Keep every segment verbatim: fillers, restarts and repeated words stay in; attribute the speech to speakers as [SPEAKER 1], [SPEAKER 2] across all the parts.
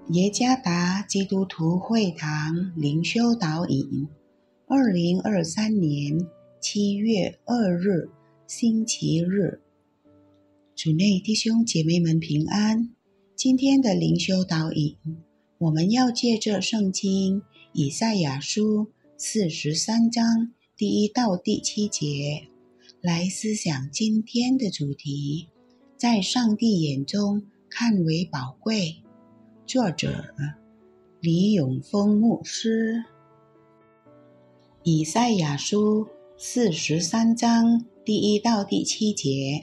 [SPEAKER 1] 耶加达基督徒会堂灵修导引，二零二三年七月二日，星期日。主内弟兄姐妹们平安。今天的灵修导引，我们要借着圣经以赛亚书四十三章第一到第七节来思想今天的主题，在上帝眼中看为宝贵。作者李永峰牧师。以赛亚书四十三章第一到第七节：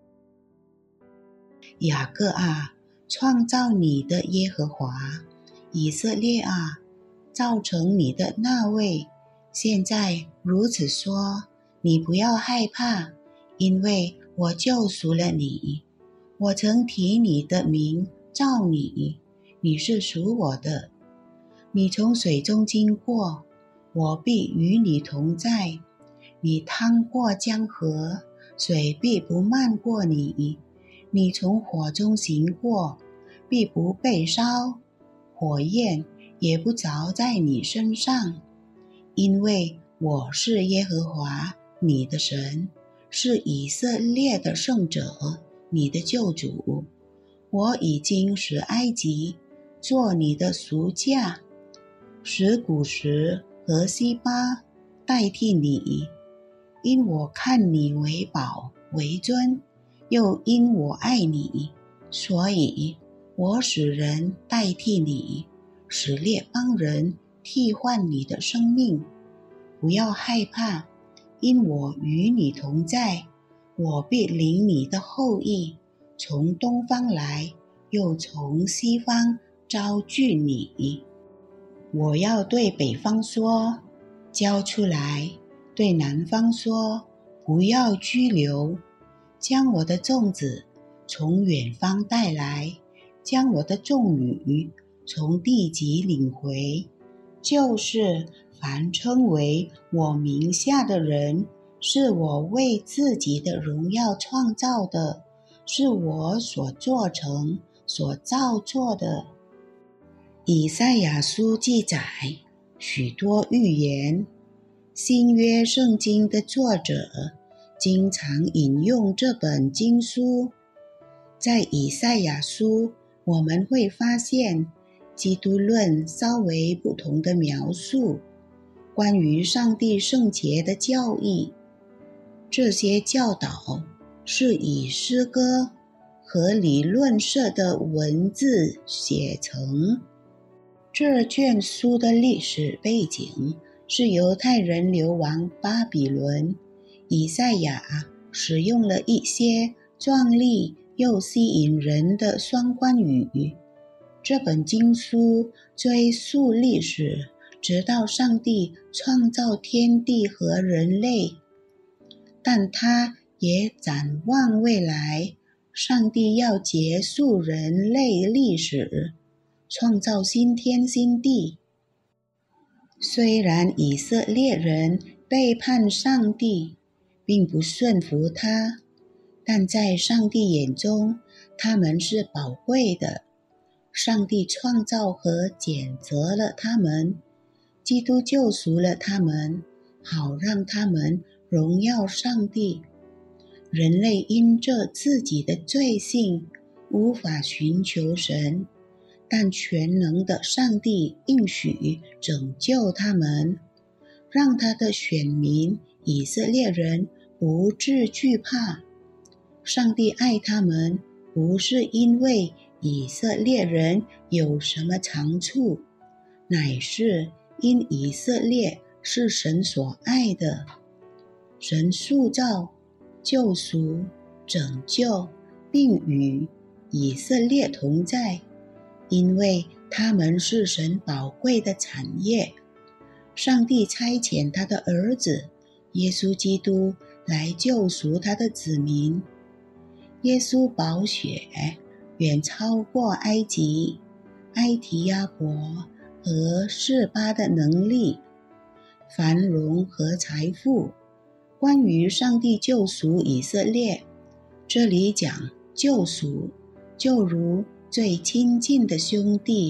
[SPEAKER 1] 雅各啊，创造你的耶和华；以色列啊，造成你的那位，现在如此说，你不要害怕，因为我救赎了你。我曾提你的名召你，你是属我的。你从水中经过，我必与你同在。你趟过江河，水必不漫过你。你从火中行过，必不被烧，火焰也不着在你身上。因为我是耶和华你的神，是以色列的圣者，你的救主。我已经使埃及做你的赎价，使古时和西巴代替你，因我看你为宝为尊，又因我爱你，所以我使人代替你，使列邦人替换你的生命。不要害怕，因我与你同在，我必领你的后裔从东方来，又从西方招聚你。我要对北方说，交出来；对南方说，不要拘留。将我的粽子从远方带来，将我的众女从地极领回。就是凡称为我名下的人，是我为自己的荣耀创造的，是我所做成、所造作的。以赛亚书记载许多预言，新约圣经的作者经常引用这本经书。在以赛亚书，我们会发现基督论稍微不同的描述，关于上帝圣洁的教义。这些教导是以诗歌和理论式的文字写成。这卷书的历史背景是犹太人流亡巴比伦，以赛亚使用了一些壮丽又吸引人的双关语。这本经书追溯历史，直到上帝创造天地和人类，但它也展望未来，上帝要结束人类历史，创造新天新地。虽然以色列人背叛上帝，并不顺服他，但在上帝眼中，他们是宝贵的。上帝创造和拣择了他们，基督救赎了他们，好让他们荣耀上帝。人类因着自己的罪性，无法寻求神，但全能的上帝应许拯救他们，让他的选民以色列人不致惧怕。上帝爱他们，不是因为以色列人有什么长处，乃是因以色列是神所爱的。神塑造、救赎、拯救，并与以色列同在，因为他们是神宝贵的产业。上帝差遣他的儿子耶稣基督来救赎他的子民。耶稣宝血远超过埃及、埃提亚伯和示巴的能力、繁荣和财富。关于上帝救赎以色列，这里讲救赎，就如最亲近的兄弟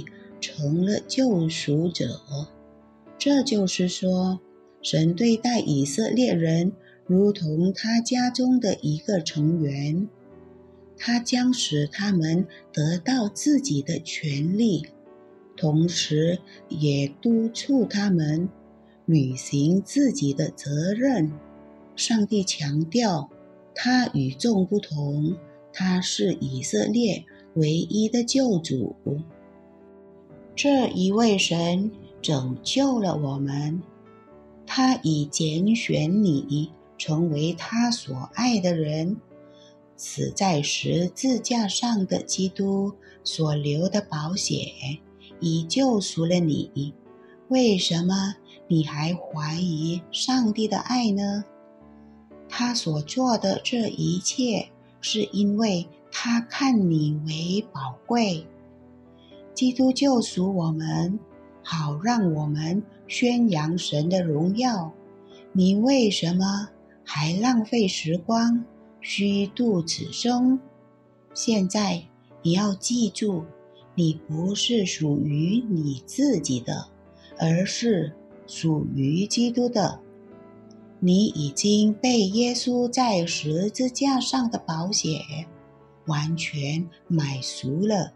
[SPEAKER 1] 成了救赎者。这就是说，神对待以色列人如同他家中的一个成员，他将使他们得到自己的权利，同时也督促他们履行自己的责任。上帝强调，他与众不同，他是以色列唯一的救主。这一位神拯救了我们，他已拣选你成为他所爱的人。死在十字架上的基督所流的宝血已救赎了你，为什么你还怀疑上帝的爱呢？他所做的这一切，是因为他看你为宝贵。基督救赎我们，好让我们宣扬神的荣耀。你为什么还浪费时光，虚度此生？现在你要记住，你不是属于你自己的，而是属于基督的。你已经被耶稣在十字架上的宝血完全买赎了。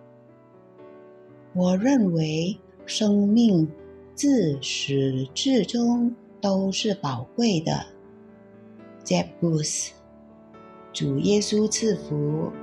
[SPEAKER 1] 我认为生命自始至终都是宝贵的。Jeb Bush， 主耶稣赐福。